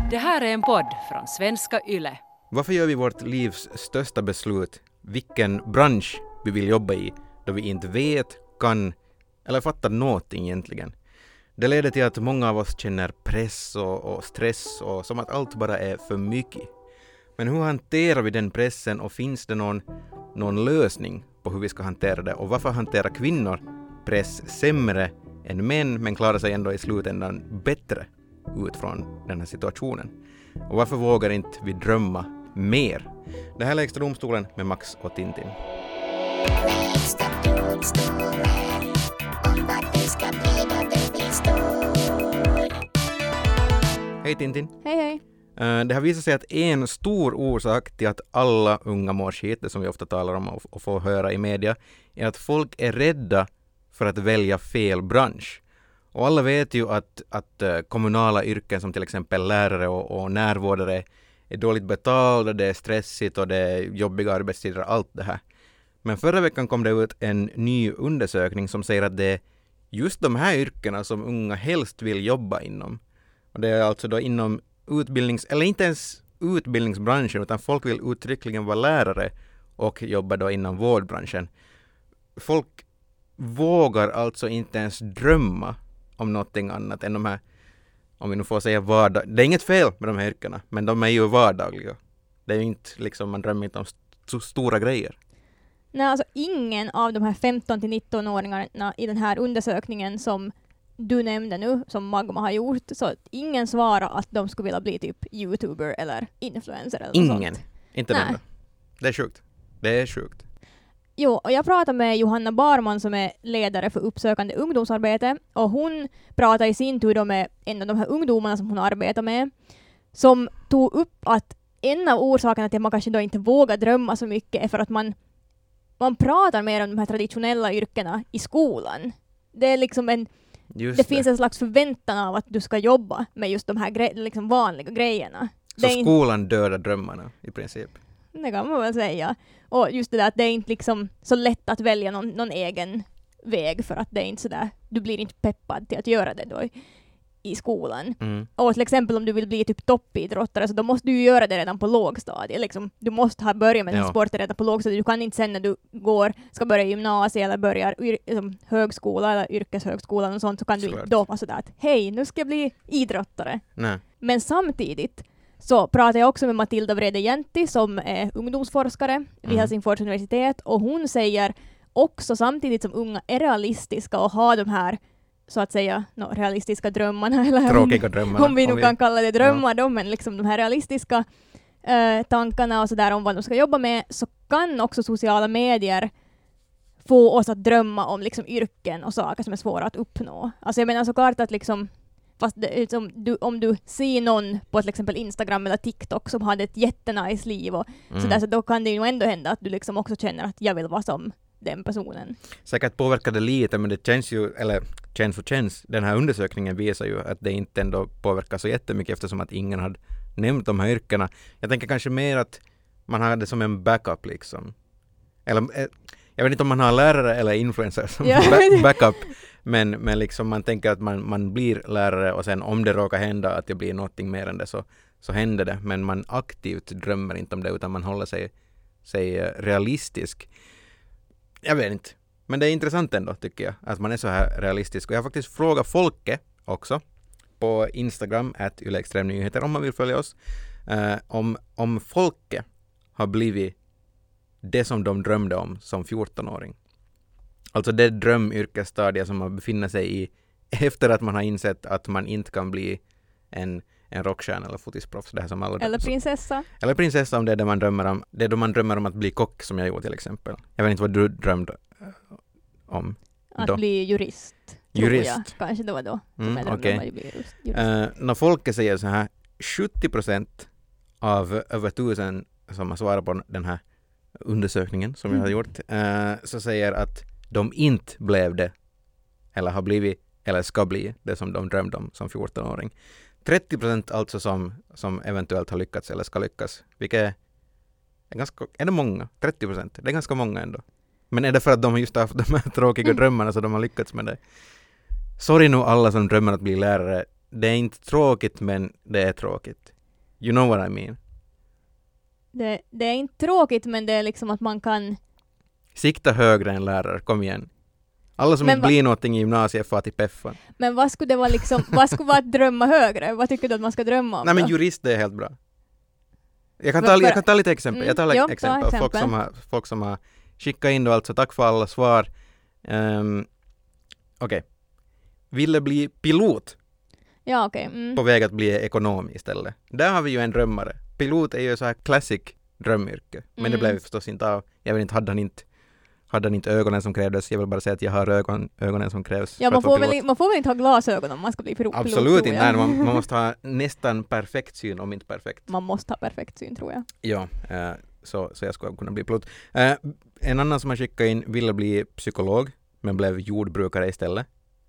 Det här är en podd från Svenska Yle. Varför gör vi vårt livs största beslut, vilken bransch vi vill jobba i, då vi inte vet, kan eller fattar någonting egentligen? Det leder till att många av oss känner press och stress och som att allt bara är för mycket. Men hur hanterar vi den pressen och finns det någon lösning på hur vi ska hantera det? Och varför hanterar kvinnor press sämre än män men klarar sig ändå i slutändan bättre ut från den här situationen? Och varför vågar inte vi drömma mer? Det här är Lägsta domstolen med Max och Tintin. Hej Tintin. Hej hej. Det har visat sig att en stor orsak till att alla unga mår skit, det som vi ofta talar om och får höra i media, är att folk är rädda för att välja fel bransch. Och alla vet ju att kommunala yrken som till exempel lärare och närvårdare är dåligt betalda, det är stressigt och det är jobbiga arbetstider, allt det här. Men förra veckan kom det ut en ny undersökning som säger att det är just de här yrkena som unga helst vill jobba inom. Och det är alltså då inom eller inte ens utbildningsbranschen, utan folk vill uttryckligen vara lärare och jobba då inom vårdbranschen. Folk vågar alltså inte ens drömma om någonting annat än de här, om vi nu får säga vardag. Det är inget fel med de här yrkena, men de är ju vardagliga. Det är ju inte liksom, man drömmer inte om stora grejer. Nej, alltså ingen av de här 15-19-åringarna i den här undersökningen som du nämnde nu, som Magma har gjort, så ingen svarar att de skulle vilja bli typ YouTuber eller influencer eller något Ingen, sånt. inte den. Det är sjukt. Det är sjukt. Jo, och jag pratade med Johanna Barman som är ledare för uppsökande ungdomsarbete, och hon pratade i sin tur då med en av de här ungdomarna som hon arbetar med, som tog upp att en av orsakerna till att man kanske då inte vågar drömma så mycket är för att man pratar mer om de här traditionella yrkena i skolan. Det är liksom det finns en slags förväntan av att du ska jobba med just de här liksom vanliga grejerna. Så skolan dödar drömmarna i princip? Det kan man väl säga. Och just det där att det är inte liksom så lätt att välja någon egen väg, för att det är inte så där, du blir inte peppad till att göra det då i skolan. Mm. Och till exempel om du vill bli typ toppidrottare, så då måste du ju göra det redan på lågstadiet. Liksom, du måste ha börjat med din sport redan på lågstadiet. Du kan inte sen när du ska börja gymnasiet eller börjar högskola eller yrkeshögskolan och sånt, så kan du inte då vara sådär att hej, nu ska jag bli idrottare. Nej. Men samtidigt så pratar jag också med Matilda Vrede-Jänti som är ungdomsforskare vid Helsingfors universitet, och hon säger också, samtidigt som unga är realistiska och har de här så att säga realistiska drömmarna, eller tråkiga drömmarna, om vi nu kan kalla det drömmar då, men liksom de här realistiska tankarna och sådär om vad de ska jobba med, så kan också sociala medier få oss att drömma om liksom yrken och saker som är svåra att uppnå. Alltså jag menar såklart att liksom, fast om du ser någon på till exempel Instagram eller TikTok som hade ett jättenice liv och sådär, så då kan det ju ändå hända att du liksom också känner att jag vill vara som den personen. Säkert påverkar det lite, men det känns ju, eller känns, den här undersökningen visar ju att det inte ändå påverkar så jättemycket, eftersom att ingen hade nämnt de här yrkena. Jag tänker kanske mer att man har det som en backup liksom. Eller, jag vet inte om man har lärare eller influencer som backup, men liksom man tänker att man blir lärare, och sen om det råkar hända att det blir någonting mer än det, så händer det. Men man aktivt drömmer inte om det, utan man håller sig realistisk. Jag vet inte. Men det är intressant ändå, tycker jag, att man är så här realistisk. Och jag har faktiskt frågat Folke också på Instagram @ylextremnyheter om man vill följa oss, om Folke har blivit det som de drömde om som 14-åring. Alltså det drömyrkesstadiet som man befinner sig i efter att man har insett att man inte kan bli en rockstjärna eller fotisproffs. Det här som alla eller prinsessa. Eller prinsessa, om det är det man drömmer om. Det är då man drömmer om att bli kock, som jag gjorde till exempel. Jag vet inte vad du drömde om. Att bli jurist. Jurist. Kanske det var då. Okej. När folk säger så här, 70% av över 1000 som har svarat på den här undersökningen som jag har gjort, så säger att de inte blev det, eller har blivit, eller ska bli det som de drömde om som 14-åring. 30% alltså som eventuellt har lyckats eller ska lyckas. Vilket är det många? 30%? Det är ganska många ändå. Men är det för att de har just haft de här tråkiga drömmarna så de har lyckats med det? Sorry nu alla som drömmer att bli lärare. Det är inte tråkigt, men det är tråkigt. You know what I mean. Det är inte tråkigt, men det är liksom att man kan... Sikta högre än lärare, kom igen. Alla som inte blir någonting i gymnasiet får till peffan. Men vad skulle det vara liksom, vad skulle vara att drömma högre? Vad tycker du att man ska drömma om? Nej, men jurist, det är helt bra. Jag kan ta lite exempel. Jag tar exempel. Folk som har skickat in då, alltså tack för alla svar. Okej. Ville bli pilot. Ja, okej. På väg att bli ekonom istället. Där har vi ju en drömmare. Pilot är ju så här classic drömyrke. Men det blev förstås inte av. Jag vet inte, hade han inte ögonen som krävdes. Jag vill bara säga att jag har ögonen som krävs. Ja, man får väl inte ha glasögon om man ska bli pilot. Absolut inte. Nej, man måste ha nästan perfekt syn, om inte perfekt. Man måste ha perfekt syn, tror jag. Ja, så jag skulle kunna bli pilot. En annan som har skickat in ville bli psykolog, men blev jordbrukare istället.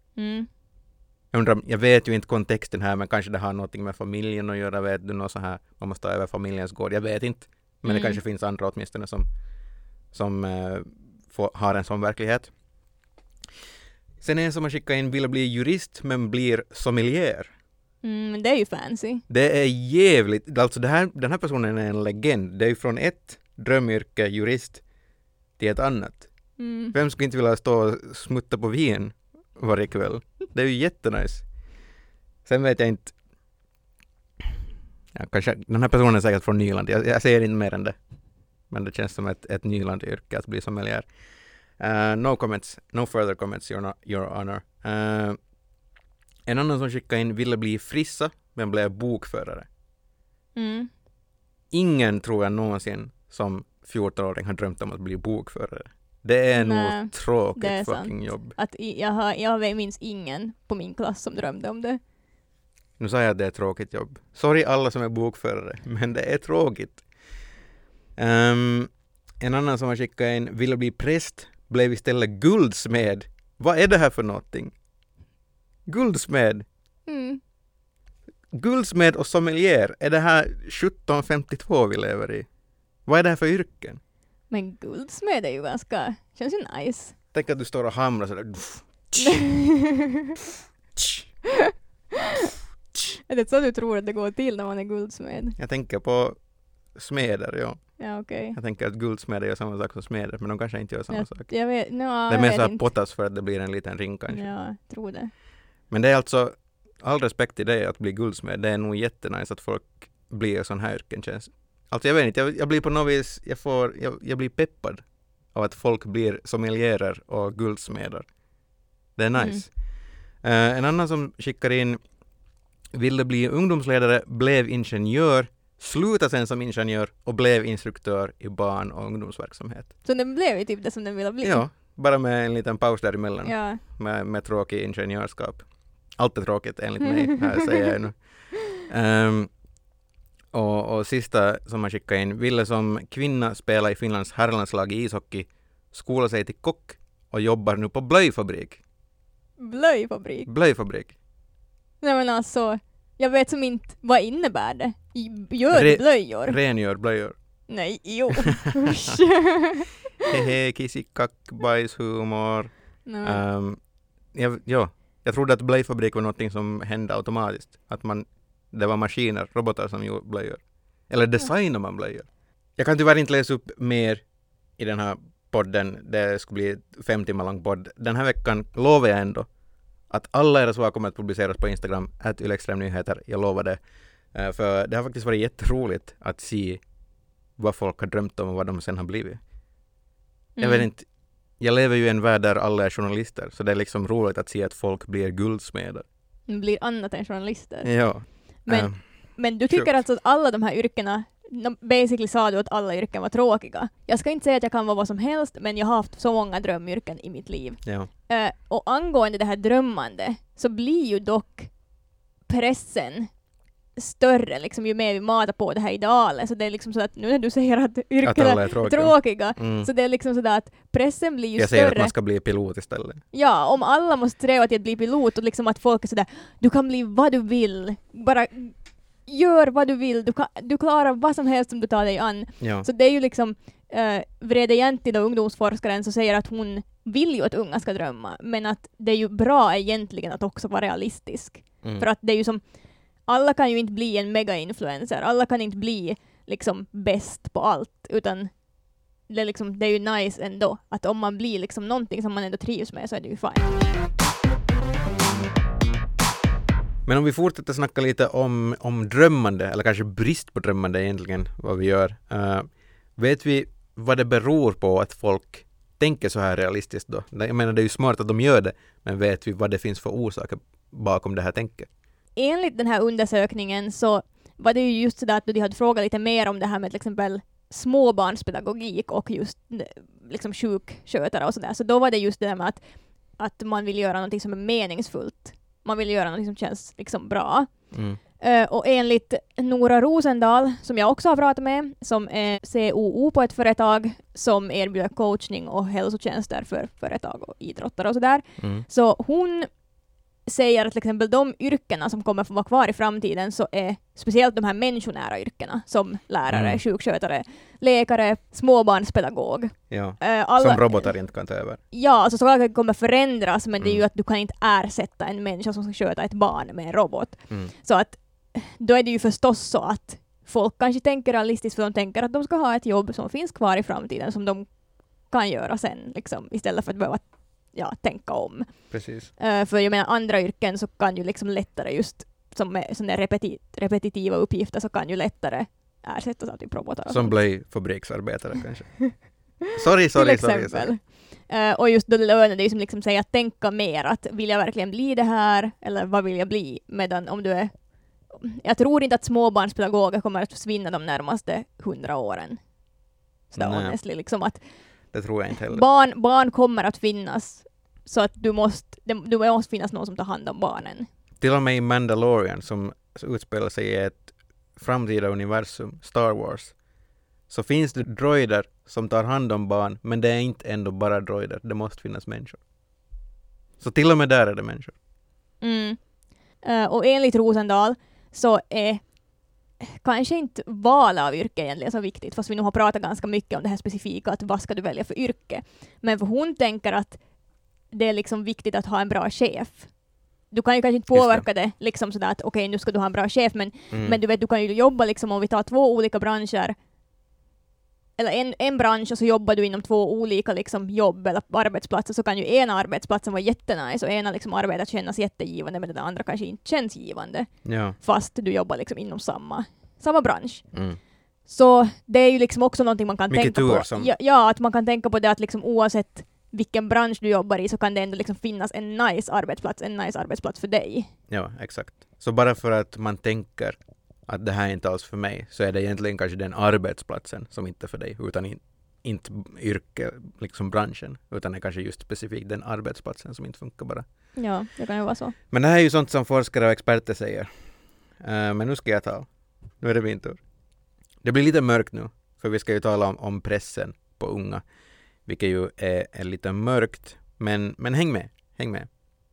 Jag vet ju inte kontexten här, men kanske det har något med familjen att göra. Vet du, något så här, man måste ta över familjens gård. Jag vet inte. Men det kanske finns andra åtminstone som har en sån verklighet. Sen en som har skickat in vill bli jurist men blir sommelier. Det är ju fancy. Det är jävligt. Alltså den här personen är en legend. Det är ju från ett drömyrke, jurist, till ett annat. Vem skulle inte vilja stå och smutta på vin varje kväll? Det är ju jättenice. Sen vet jag inte. Ja, kanske, den här personen är säkert från Nyland. Jag säger inte mer än det. Men det känns som ett Nyland-yrke att bli sommelier. No comments. No further comments, your honor. En annan som skickade in ville bli frissa, men blev bokförare. Ingen tror jag någonsin som 14-åring har drömt om att bli bokförare. Det är nog tråkigt fucking jobb. Att jag minns ingen på min klass som drömde om det. Nu sa jag att det är tråkigt jobb. Sorry alla som är bokförare, men det är tråkigt. En annan som har skickat in ville bli präst, blev istället guldsmed. Vad är det här för någonting? Guldsmed. Guldsmed och sommelier. Är det här 1752 vi lever i? Vad är det här för yrken? Men guldsmed är ju ganska... Känns ju nice. Tänk att du står och hamrar sådär. Är det så du tror att det går till när man är guldsmed? Jag tänker på smeder, ja. Ja, okej. Jag tänker att guldsmeder gör samma sak som smeder, men de kanske inte gör samma sak. Jag vet, det är mer så här pottas för att det blir en liten ring kanske. Ja, jag tror det. Men det är alltså, all respekt till det att bli guldsmed. Det är nog jättenice att folk blir sån här yrken känns. Alltså jag vet inte, jag blir på något vis, jag blir peppad av att folk blir sommelierer och guldsmeder. Det är nice. En annan som skickar in ville bli ungdomsledare, blev ingenjör, slutade sen som ingenjör och blev instruktör i barn- och ungdomsverksamhet. Så den blev ju typ det som den ville bli? Ja, bara med en liten paus däremellan. Ja. Med tråkig ingenjörskap. Allt är tråkigt enligt mig, här säger jag nu. Och sista som man skickade in, ville som kvinna spela i Finlands herrlandslag i ishockey, skola sig till kock och jobbar nu på blöjfabrik. Blöjfabrik. Nej men alltså, jag vet som inte, vad innebär det? Gör blöjor? Rengör blöjor. Nej, jo. Hehe, kissikack, bajshumor. Jag trodde att blöjfabrik var något som hände automatiskt. Att det var maskiner, robotar som gjorde blöjor. Eller designar man blöjor. Jag kan tyvärr inte läsa upp mer i den här podden. Det skulle bli 5 timmar lång podd. Den här veckan lovar jag ändå att alla era svar kommer att publiceras på Instagram @ylextremnyheter. Jag lovar det. För det har faktiskt varit jätteroligt att se vad folk har drömt om och vad de sen har blivit. Jag vet inte. Jag lever ju i en värld där alla är journalister. Så det är liksom roligt att se att folk blir guldsmeder. Blir annat än journalister. Ja. Men du tycker alltså att alla de här yrkena, basically sa du att alla yrken var tråkiga. Jag ska inte säga att jag kan vara vad som helst, men jag har haft så många drömyrken i mitt liv. Ja. Och angående det här drömmande så blir ju dock pressen större liksom, ju mer vi matar på det här idealet. Så det är liksom så att nu när du säger att yrken är tråkiga så det är liksom så att pressen blir ju jag större. säger att man ska bli pilot istället. Ja, om alla måste sträva till att bli pilot och liksom att folk är sådär, du kan bli vad du vill. Bara gör vad du vill. Du klarar vad som helst som du tar dig an. Ja. Så det är ju liksom Vrede Jäntti, då ungdomsforskaren, så säger att hon vill ju att unga ska drömma, men att det är ju bra egentligen att också vara realistisk. För att det är ju som alla kan ju inte bli en mega-influencer. Alla kan inte bli liksom bäst på allt, utan det är ju nice ändå. Att om man blir liksom någonting som man ändå trivs med så är det ju fine. Men om vi fortsätter snacka lite om drömmande, eller kanske brist på drömmande egentligen, vad vi gör. Vet vi vad det beror på att folk tänker så här realistiskt då? Jag menar, det är ju smart att de gör det, men vet vi vad det finns för orsaker bakom det här tänket? Enligt den här undersökningen så var det ju just så där att de hade frågat lite mer om det här med till exempel småbarnspedagogik och just liksom sjukskötare och sådär. Så då var det just det där med att man vill göra något som är meningsfullt. Man vill göra något som känns liksom bra. Och enligt Nora Rosendal, som jag också har pratat med, som är COO på ett företag som erbjuder coachning och hälsotjänster för företag och idrottare och sådär. Så hon säger att till exempel de yrkena som kommer att få vara kvar i framtiden så är speciellt de här människonära yrkena som lärare, sjukskötare, läkare, småbarnspedagog. Ja, som robotar inte kan ta över. Ja, alltså saker kommer förändras, men det är ju att du kan inte ersätta en människa som ska sköta ett barn med en robot. Så att då är det ju förstås så att folk kanske tänker realistiskt, för de tänker att de ska ha ett jobb som finns kvar i framtiden som de kan göra sen, liksom, istället för att behöva tänka om. Precis. För jag menar, andra yrken så kan ju liksom lättare, just som med sådana repetitiva uppgifter, så kan ju lättare ersättas av typ robotar. Som blir fabriksarbetare kanske. Sorry. Och just då lönar det ju som liksom säga att tänka mer, att vill jag verkligen bli det här, eller vad vill jag bli? Medan om du är, jag tror inte att småbarnspedagoger kommer att försvinna de närmaste 100 åren. Så honestly, liksom att det tror jag inte heller. Barn kommer att finnas, så att det måste finnas någon som tar hand om barnen. Till och med i Mandalorian, som utspelar sig i ett framtida universum, Star Wars, så finns det droider som tar hand om barn, men det är inte ändå bara droider. Det måste finnas människor. Så till och med där är det människor. Och enligt Rosendal så är kanske inte val av yrke egentligen så viktigt, fast vi nu har pratat ganska mycket om det här specifika, att vad ska du välja för yrke. Men för hon tänker att det är liksom viktigt att ha en bra chef. Du kan ju kanske inte påverka det liksom sådär att okej, nu ska du ha en bra chef, men du vet, du kan ju jobba liksom, om vi tar 2 olika branscher, eller en bransch, och så jobbar du inom 2 olika liksom jobb eller arbetsplatser, så kan ju ena arbetsplatsen vara jättenice och ena liksom arbetet kännas jättegivande, men den andra kanske inte känns givande. Ja. Fast du jobbar liksom inom samma bransch. Så det är ju liksom också någonting man kan mycket tänka på. Som... Ja, att man kan tänka på det, att liksom oavsett vilken bransch du jobbar i så kan det ändå liksom finnas en nice arbetsplats för dig. Ja, exakt. Så bara för att man tänker att det här är inte alls för mig, så är det egentligen kanske den arbetsplatsen som inte är för dig, utan inte yrke, liksom branschen, utan det är kanske just specifikt den arbetsplatsen som inte funkar bara. Ja, det kan ju vara så. Men det här är ju sånt som forskare och experter säger. Men nu ska jag tala. Nu är det min tur. Det blir lite mörkt nu, för vi ska ju tala om pressen på unga, vilket ju är lite mörkt, men häng med.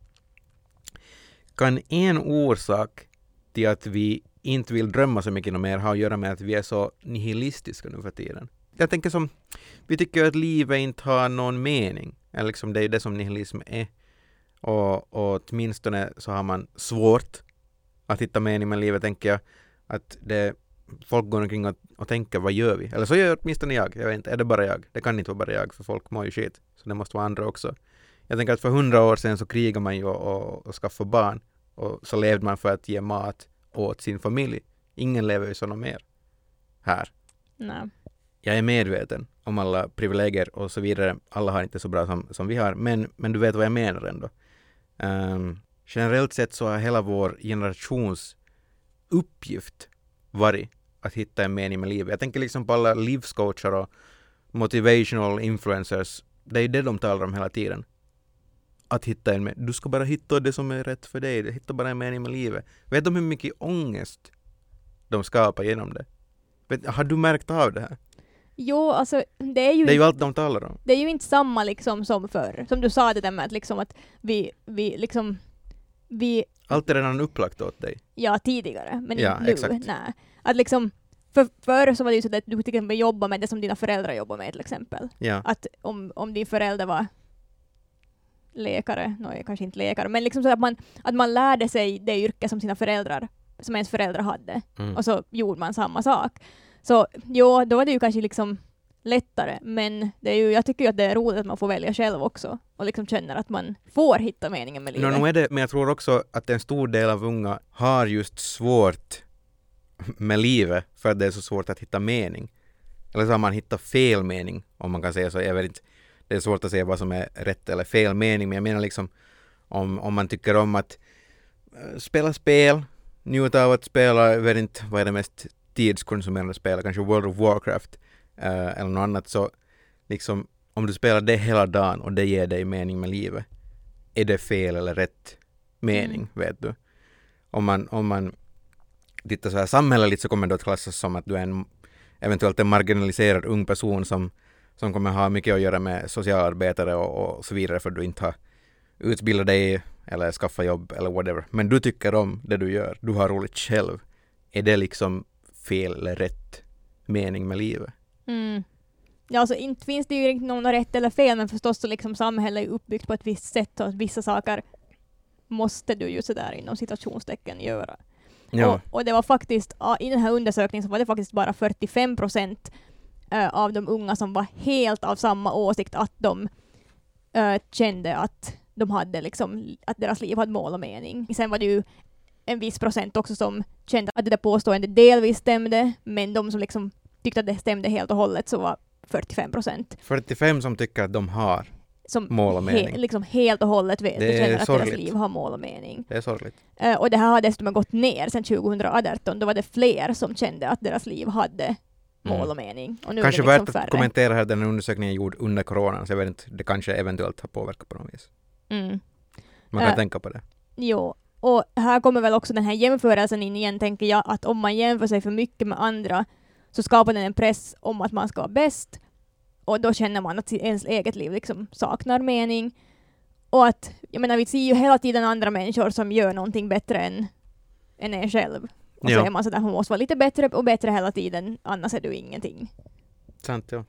Kan en orsak till att vi inte vill drömma så mycket mer ha att göra med att vi är så nihilistiska nu för tiden? Jag tänker som, vi tycker att livet inte har någon mening. Eller liksom det är det som nihilism är. Och åtminstone så har man svårt att hitta mening med livet, tänker jag. Att folk går omkring och tänker, vad gör vi? Eller så gör åtminstone jag vet inte, är det bara jag? Det kan inte vara bara jag, för folk mår ju skit. Så det måste vara andra också. Jag tänker att för 100 år sedan så krigade man ju och skaffade barn. Och så levde man för att ge mat åt sin familj. Ingen lever ju sådana mer här. Nej. Jag är medveten om alla privilegier och så vidare. Alla har inte så bra som vi har. Men du vet vad jag menar ändå. Generellt sett så har hela vår generations uppgift varit att hitta en mening med livet. Jag tänker liksom på alla livscoacher och motivational influencers. Det är det de talar om hela tiden. Att hitta en mening. Du ska bara hitta det som är rätt för dig. Hitta bara en mening med livet. Vet de hur mycket ångest de skapar genom det? Har du märkt av det här? Jo, alltså det är ju allt de talar om. Det är ju inte samma liksom som förr. Som du sa det där med att liksom att vi allt är redan upplagt åt dig. Ja, tidigare, men ja, inte nu. Exakt. Nej. Att liksom förr så var det ju så att du till exempel jobbar med det som dina föräldrar jobbar med till exempel. Ja. Att om din förälder var läkare, kanske inte läkare, men liksom så att man lärde sig det yrke som sina föräldrar som ens föräldrar hade. Och så gjorde man samma sak. Så jo, då var det ju kanske liksom lättare, men det är ju, jag tycker ju att det är roligt att man får välja själv också och liksom känner att man får hitta meningen med livet. Nu är det, men jag tror också att en stor del av unga har just svårt med livet för att det är så svårt att hitta mening. Eller så har man hittat fel mening, om man kan säga så. Jag vet inte, det är svårt att säga vad som är rätt eller fel mening, men jag menar liksom om man tycker om att spela spel, njuta av att spela, jag vet inte vad är det mest tidskonsumerande spelet, kanske World of Warcraft eller något annat, så liksom om du spelar det hela dagen och det ger dig mening med livet, är det fel eller rätt mening, vet du? Om man tittar så här samhälleligt så kommer det att klassas som att du är eventuellt en marginaliserad ung person som kommer ha mycket att göra med socialarbetare och så vidare, för du inte har utbildat dig eller skaffa jobb eller whatever. Men du tycker om det du gör. Du har roligt själv. Är det liksom fel eller rätt mening med livet? Ja, alltså inte finns det ju inte någon rätt eller fel, men förstås så liksom samhället är uppbyggt på ett visst sätt och att vissa saker måste du ju sådär inom citationstecken göra. Ja. Och det var faktiskt, i den här undersökningen så var det faktiskt bara 45% av de unga som var helt av samma åsikt, att de kände att de hade liksom, att deras liv hade mål och mening. Sen var det ju en viss procent också som kände att det där påståendet delvis stämde, men de som liksom tyckte att det stämde helt och hållet så var 45%. 45 som tycker att de har som mål och mening. Liksom helt och hållet vet det känner att sorgligt. deras liv har mål och mening. Det är sorgligt. Och det här har dessutom gått ner sedan 2018. Då var det fler som kände att deras liv hade mål och mening. Och nu kanske är det liksom värt färre. att kommentera här, den här undersökningen gjord under coronan, så jag vet inte, det kanske eventuellt har påverkat på något vis. Man kan tänka på det. Jo, och här kommer väl också den här jämförelsen in igen, tänker jag, att om man jämför sig för mycket med andra så skapar den en press om att man ska vara bäst, och då känner man att ens eget liv liksom saknar mening. Och att, jag menar, vi ser ju hela tiden andra människor som gör någonting bättre än en själv. Och så är man sådär, man måste vara lite bättre och bättre hela tiden, annars är du ingenting. Sant, ja.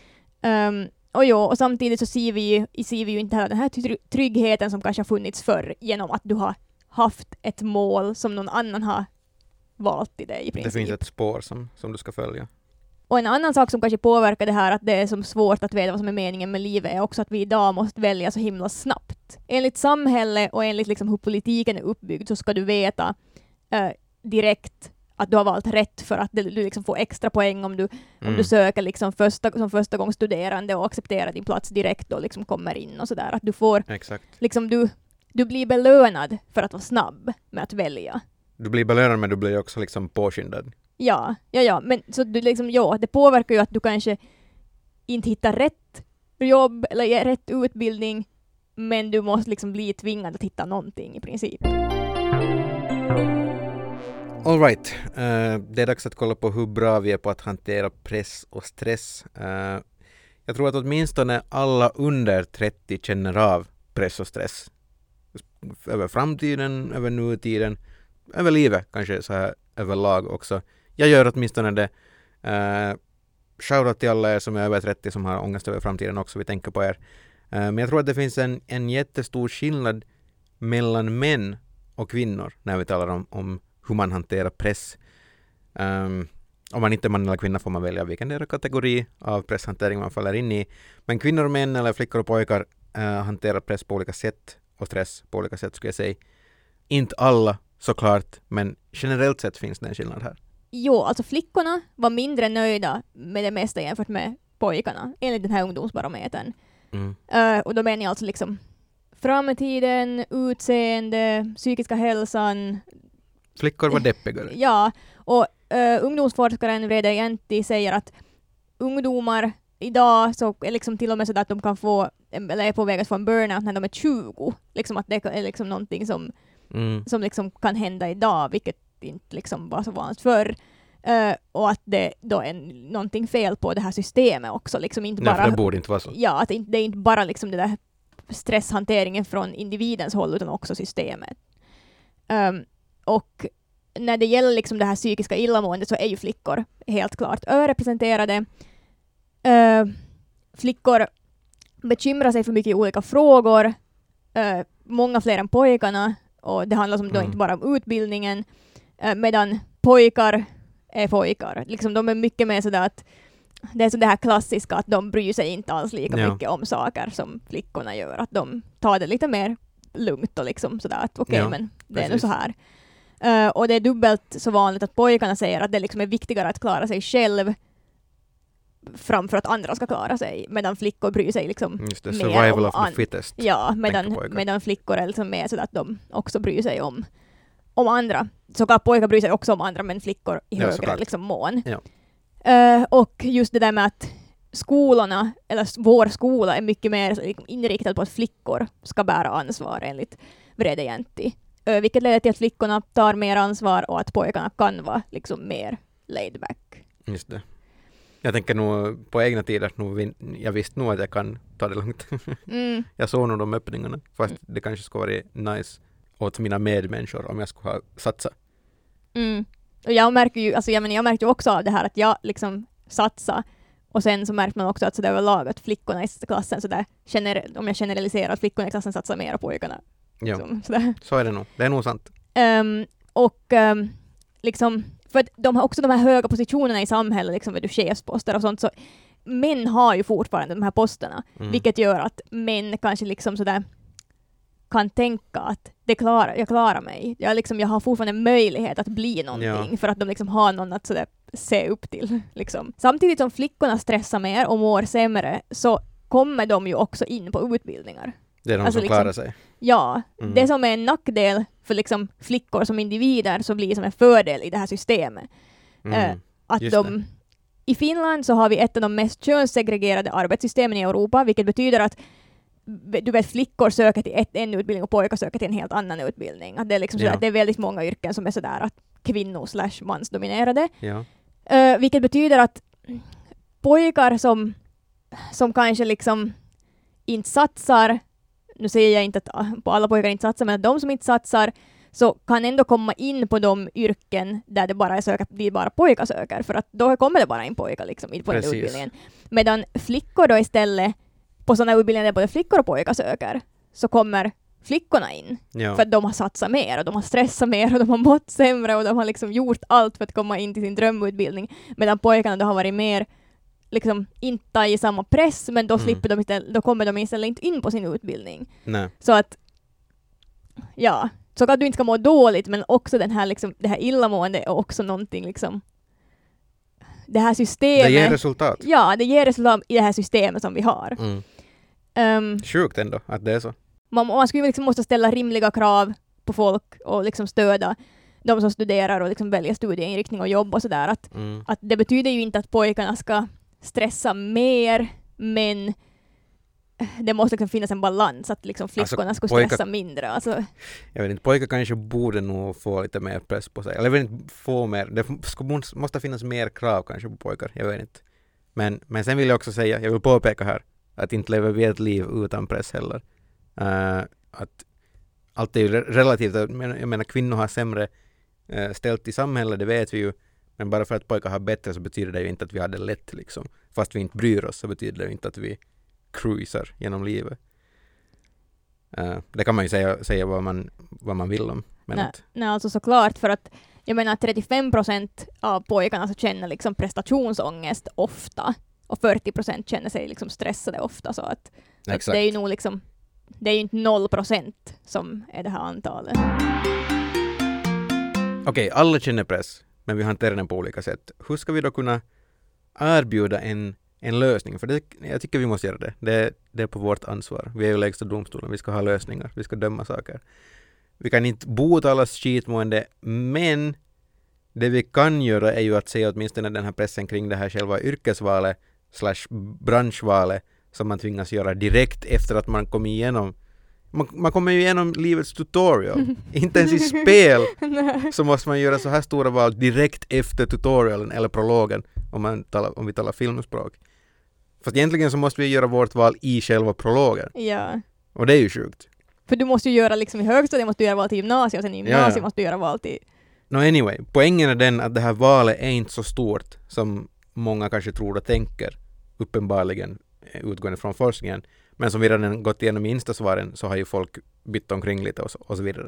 Och samtidigt så ser vi ju inte heller den här tryggheten som kanske har funnits förr, genom att du har haft ett mål som någon annan har valt till dig i princip. Det finns ett spår som du ska följa. Och en annan sak som kanske påverkar det här, att det är som svårt att veta vad som är meningen med livet, är också att vi idag måste välja så himla snabbt. Enligt samhället och enligt liksom hur politiken är uppbyggd så ska du veta direkt att du har valt rätt, för att du liksom får extra poäng om du söker liksom som första gångs studerande och accepterar din plats direkt och liksom kommer in och sådär. Att du får liksom du blir belönad för att vara snabb med att välja. Du blir belönad, men du blir också liksom påskyndad. Ja, men så du liksom, det påverkar ju att du kanske inte hittar rätt jobb eller rätt utbildning, men du måste liksom bli tvingad att hitta någonting i princip. All right. Det är dags att kolla på hur bra vi är på att hantera press och stress. Jag tror att åtminstone alla under 30 känner av press och stress. Över framtiden, över nutiden, över livet kanske så här överlag också. Jag gör åtminstone det. Shoutout till alla er som är över 30 som har ångest över framtiden också. Vi tänker på er. Men jag tror att det finns en jättestor skillnad mellan män och kvinnor när vi talar om hur man hanterar press. Om man inte är man eller kvinna får man välja vilken kategori av presshantering man faller in i. Men kvinnor och män eller flickor och pojkar hanterar press på olika sätt och stress på olika sätt, skulle jag säga. Inte alla såklart, men generellt sett finns det en skillnad här. Jo, alltså flickorna var mindre nöjda med det mesta jämfört med pojkarna, enligt den här ungdomsbarometern. Och då menar jag alltså liksom framtiden, utseende, psykiska hälsan. Flickor var deppigare. Ja, och ungdomsforskaren Vrede Jäntti säger att ungdomar idag så är liksom till och med så att de kan få, eller är på väg att få en burnout när de är 20. Liksom att det är liksom någonting som liksom kan hända idag, vilket inte liksom var så vanligt förr. Och att det då är någonting fel på det här systemet också. Liksom inte bara, för det borde inte vara så. Ja, att det är inte bara liksom det där stresshanteringen från individens håll, utan också systemet. Och när det gäller liksom det här psykiska illamåendet så är ju flickor helt klart överrepresenterade. Flickor bekymrar sig för mycket olika frågor. Många fler än pojkarna. Och det handlar då inte bara om utbildningen. medan pojkar är pojkar. Liksom, de är mycket mer sådär att det är så det här klassiska att de bryr sig inte alls lika mycket om saker som flickorna gör. Att de tar det lite mer lugnt och liksom sådär att okej, men det är nu så här. Och det är dubbelt så vanligt att pojkarna säger att det liksom är viktigare att klara sig själv framför att andra ska klara sig, medan flickor bryr sig liksom Just det, mer survival om of the fittest. Ja, medan flickor är liksom mer så att de också bryr sig om andra. Såklart pojkar bryr sig också om andra, men flickor i högre liksom mån. Ja. Och just det där med att skolorna, eller vår skola är mycket mer inriktad på att flickor ska bära ansvar enligt Vrede Jäntti. Vilket leder till att flickorna tar mer ansvar och att pojkarna kan vara liksom mer laid back. Just det. Jag tänker nog på egna tider, jag visste nog att jag kan ta det lugnt. Jag såg nog de öppningarna, fast det kanske skulle vara nice åt mina medmänniskor om jag skulle ha satsat. Och jag märker ju, alltså jag märkte ju också av det här att jag liksom satsade, och sen så märkte man också att så där överlag att flickorna i klassen så där, om jag generaliserar att flickorna i klassen satsar mer på pojkarna. Ja, liksom, så är det nog. Det är nog sant. Liksom, för att de har också de här höga positionerna i samhället, liksom vid chefsposter och sånt, så män har ju fortfarande de här posterna, vilket gör att män kanske liksom sådär kan tänka att jag klarar mig. Jag har fortfarande möjlighet att bli någonting, för att de liksom har någon att sådär se upp till. Liksom. Samtidigt som flickorna stressar mer och mår sämre, så kommer de ju också in på utbildningar. Det är de som klarar sig. Ja, det som är en nackdel för liksom flickor som individer så blir som en fördel i det här systemet. Att i Finland så har vi ett av de mest könssegregerade arbetssystemen i Europa, vilket betyder att flickor söker till en utbildning och pojkar söker till en helt annan utbildning. Att det är liksom så att det är väldigt många yrken som är sådär att kvinnor/mansdominerade. Ja. Vilket betyder att pojkar som kanske liksom inte satsar, nu säger jag inte att på alla pojkar inte satsar, men att de som inte satsar så kan ändå komma in på de yrken där det bara är bara pojkar söker, för att då kommer det bara in pojkar liksom in på den utbildningen. Medan flickor då istället på sådana utbildningar där både flickor och pojkar söker, så kommer flickorna in. Ja. För att de har satsat mer och de har stressat mer och de har mått sämre och de har liksom gjort allt för att komma in till sin drömutbildning. Medan pojkarna då har varit mer liksom inte i samma press, men då då kommer de istället inte in på sin utbildning. Nej. Så att så att du inte ska må dåligt, men också den här liksom, det här illamående är också någonting liksom, det här systemet. Det ger resultat. Ja, det ger resultat i det här systemet som vi har. Sjukt ändå att det är så. Man skulle liksom måste ställa rimliga krav på folk och liksom stödja de som studerar och liksom välja studieinriktning och jobb och sådär. Att det betyder ju inte att pojkarna ska stressa mer, men det måste liksom finnas en balans att liksom flickorna ska stressa mindre. Alltså. Jag vet inte, pojkar kanske borde nog få lite mer press på sig. Eller jag vet inte, få mer. Det måste finnas mer krav kanske på pojkar. Jag vet inte. Men sen vill jag också säga, jag vill påpeka här, att inte lever vi ett liv utan press heller. Att allt är ju relativt. Jag menar, kvinnor har sämre ställt i samhället, det vet vi ju. Men bara för att pojkar har bättre så betyder det ju inte att vi har det lätt liksom. Fast vi inte bryr oss så betyder det ju inte att vi cruisar genom livet. Det kan man ju säga vad man vill om. Men nej, alltså såklart, för att jag menar 35% av pojkarna så känner liksom prestationsångest ofta och 40% känner sig liksom stressade ofta, så att det är ju nog liksom, det är ju inte 0% som är det här antalet. Okej, alla känner press, men vi hanterar den på olika sätt. Hur ska vi då kunna erbjuda en lösning? För jag tycker vi måste göra det. Det är på vårt ansvar. Vi är ju lägsta domstolen. Vi ska ha lösningar. Vi ska döma saker. Vi kan inte bota allas skitmående, men det vi kan göra är ju att se åtminstone den här pressen kring det här själva yrkesvalet / branschvalet som man tvingas göra direkt efter att man kommer igenom. Man kommer ju igenom livets tutorial. Inte ens i spel så måste man göra så här stora val direkt efter tutorialen eller prologen om vi talar filmspråk. Fast egentligen så måste vi göra vårt val i själva prologen. Ja. Och det är ju sjukt. För du måste ju göra liksom i högstadiet måste du göra val till gymnasiet och sen i gymnasiet måste du göra val till... Anyway, poängen är den att det här valet är inte så stort som många kanske tror och tänker, uppenbarligen utgående från forskningen. Men som vi redan gått igenom i instasvaren så har ju folk bytt omkring lite och så vidare.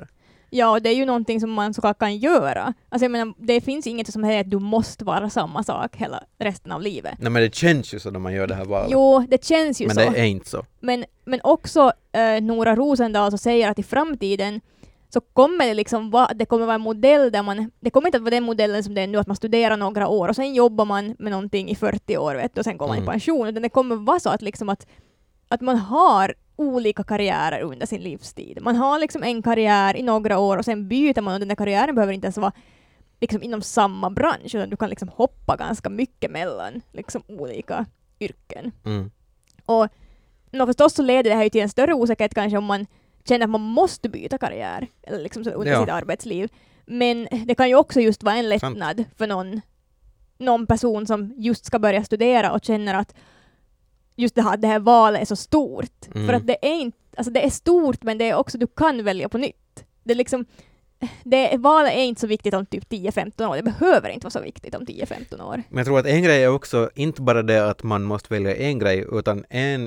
Ja, och det är ju någonting som man såklart kan göra. Alltså jag menar, det finns inget som säger att du måste vara samma sak hela resten av livet. Nej, men det känns ju så när man gör det här valet. Jo, det känns ju men så. Men det är inte så. Men också Nora Rosendahl så säger att i framtiden så kommer det liksom det kommer vara en modell där det kommer inte att vara den modellen som det är nu, att man studerar några år och sen jobbar man med någonting i 40 år, vet du, och sen går man i pension. Utan det kommer vara så att liksom att man har olika karriärer under sin livstid. Man har liksom en karriär i några år och sen byter man, och den där karriären behöver inte ens vara liksom inom samma bransch, utan du kan liksom hoppa ganska mycket mellan liksom olika yrken. Och förstås så leder det här ju till en större osäkerhet kanske om man känner att man måste byta karriär eller liksom så under sitt arbetsliv. Men det kan ju också just vara en lättnad för någon person som just ska börja studera och känner att just det här valet är så stort. För att det är inte, alltså det är stort, men det är också, du kan välja på nytt. Det är liksom, valet är inte så viktigt om typ 10-15 år. Det behöver inte vara så viktigt om 10-15 år. Men jag tror att en grej är också inte bara det att man måste välja en grej, utan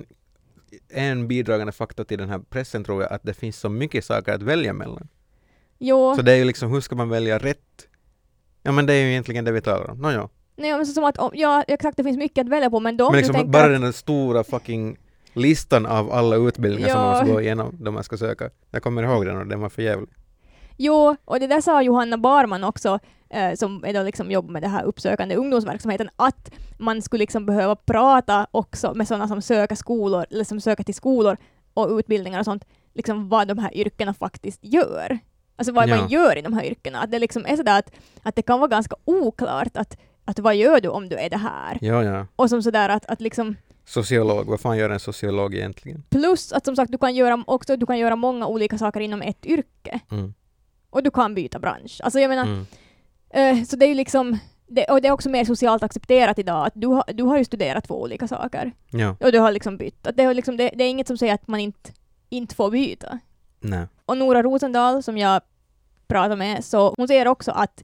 en bidragande faktor till den här pressen tror jag att det finns så mycket saker att välja mellan. Jo. Så det är ju liksom, hur ska man välja rätt? Ja, men det är ju egentligen det vi talar om. Nåja. Nej, men så som att, exakt, det finns mycket att välja på, men men liksom bara den stora fucking listan av alla utbildningar som man måste gå igenom då man ska söka. Jag kommer ihåg den och den var för jävlig. Jo, och det där sa Johanna Barman också, som är då liksom jobbar med det här uppsökande ungdomsverksamheten, att man skulle liksom behöva prata också med sådana som söker skolor, eller som söker till skolor och utbildningar och sånt, liksom vad de här yrkena faktiskt gör. Alltså vad man gör i de här yrkena. Att det liksom är sådär att det kan vara ganska oklart att vad gör du om du är det här? Ja. Och som sådär att liksom... Sociolog, vad fan gör en sociolog egentligen? Plus att som sagt, du kan göra många olika saker inom ett yrke. Och du kan byta bransch. Alltså jag menar, så det är ju liksom, och det är också mer socialt accepterat idag att du har ju studerat 2 olika saker. Ja. Och du har liksom bytt. Att det är inget som säger att man inte får byta. Nej. Och Nora Rosendahl som jag pratar med, så hon säger också att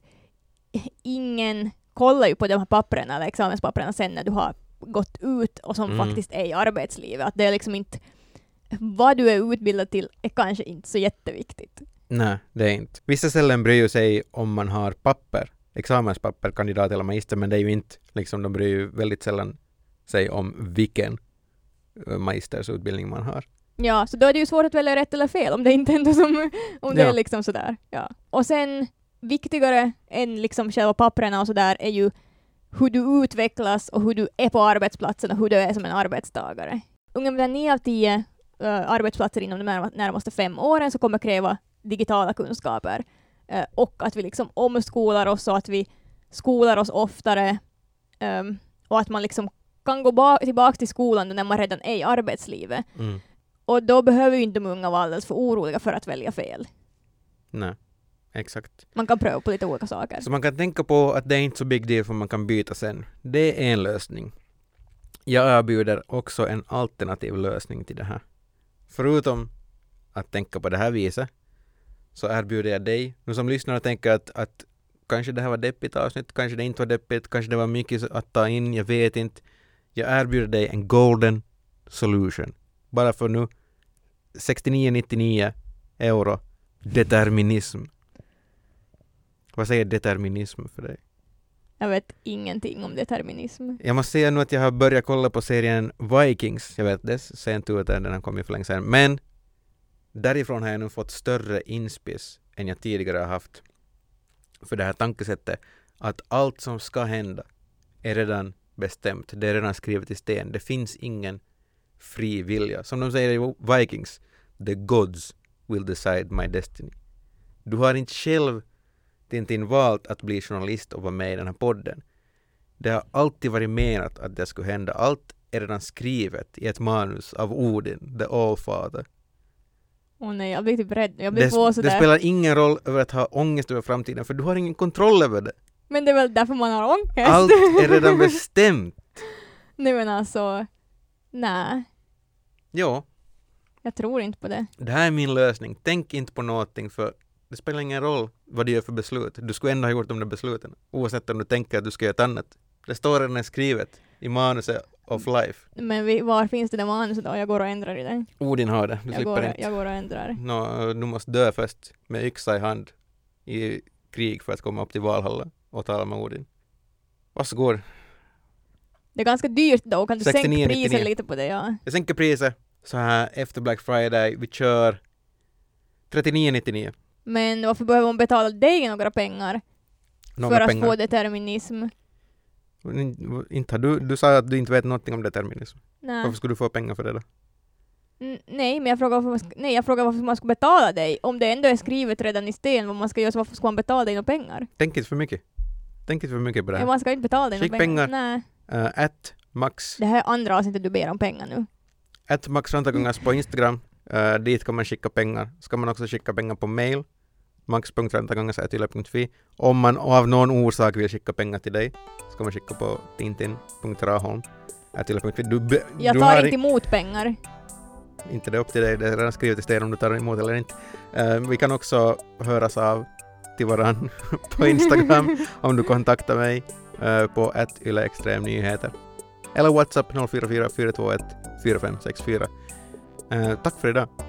ingen kollar ju på de här papperna eller examenspapperna sen när du har gått ut och som faktiskt är i arbetslivet. Att det är liksom inte, vad du är utbildad till är kanske inte så jätteviktigt. Nej, det är inte. Vissa ställen bryr sig om man har papper, examenspapper, kandidat eller magister, men det är ju inte, liksom, de bryr ju väldigt sällan sig om vilken magistersutbildning man har. Ja, så då är det ju svårt att välja rätt eller fel om det inte ändå som, om det är liksom sådär. Ja. Och sen viktigare än liksom själva papperna och sådär är ju hur du utvecklas och hur du är på arbetsplatsen och hur du är som en arbetstagare. Ungefär 9 av 10 arbetsplatser inom de närmaste 5 åren så kommer kräva digitala kunskaper. Och att vi liksom omskolar oss och att vi skolar oss oftare. Och att man liksom kan gå tillbaka till skolan när man redan är i arbetslivet. Och då behöver ju inte de unga vara alldeles för oroliga för att välja fel. Nej, exakt. Man kan pröva på lite olika saker. Så man kan tänka på att det är inte så big deal för man kan byta sen. Det är en lösning. Jag erbjuder också en alternativ lösning till det här. Förutom att tänka på det här viset så erbjuder jag dig, nu som lyssnar och tänker att kanske det här var deppigt avsnitt, kanske det inte var deppigt, kanske det var mycket att ta in, jag vet inte. Jag erbjuder dig en golden solution. Bara för nu 69,99 euro. Determinism. Vad säger determinism för dig? Jag vet ingenting om determinism. Jag måste säga nu att jag har börjat kolla på serien Vikings. Jag vet det, sent ut den har kommit för länge sedan. Men därifrån har jag nu fått större inspiss än jag tidigare har haft. För det här tankesättet att allt som ska hända är redan bestämt. Det är redan skrivet i sten. Det finns ingen fri vilja. Som de säger i Vikings, the gods will decide my destiny. Du har inte själv Tintin valt att bli journalist och vara med i den här podden. Det har alltid varit menat att det skulle hända. Allt är redan skrivet i ett manus av Odin, the Allfather. Åh nej, jag blir typ rädd. Jag blir det spelar ingen roll över att ha ångest över framtiden, för du har ingen kontroll över det. Men det är väl därför man har ångest. Allt är redan bestämt. Nej men alltså, nej. Jo. Jag tror inte på det. Det här är min lösning. Tänk inte på någonting, för det spelar ingen roll vad du gör för beslut. Du skulle ändå ha gjort de där besluten. Oavsett om du tänker att du ska göra ett annat. Det står redan skrivet i manuset of life. Men var finns det där manus då? Jag går och ändrar i den. Odin har det, du slipper inte. Jag går och ändrar. Du måste dö först med yxa i hand i krig för att komma upp till Valhalla och tala med Odin. Varsågod. Det är ganska dyrt då, kan du 69, sänka priset 99. lite på det? Ja. Jag sänker priset så här efter Black Friday. Vi kör 39,99. Men varför behöver man betala dig några pengar för att få determinism? Inte har du sa att du inte vet någonting om determinism. Nej. Varför skulle du få pengar för det då? Nej, men jag frågar varför man ska betala dig. Om det ändå är skrivet redan i sten vad man ska göra, så varför ska man betala dig några pengar? Tänk inte för mycket. Tänk inte för mycket på det här. Ja, man ska inte betala dig några pengar. Nej. @max. Det här är andra avsnittet du ber om pengar nu. @maxrantagångas på Instagram. Dit kan man skicka pengar. Ska man också skicka pengar på mail. max.rantagångas@yle.fi. Om man av någon orsak vill skicka pengar till dig ska man skicka på tintin.raholm@yle.fi. Jag tar inte emot pengar. Inte det upp till dig. Det är redan skrivet i sten om du tar emot eller inte. Vi kan också höras av till varann på Instagram om du kontaktar mig på @yleextremnyheter. Eller WhatsApp 044 421 4564. Tack för idag.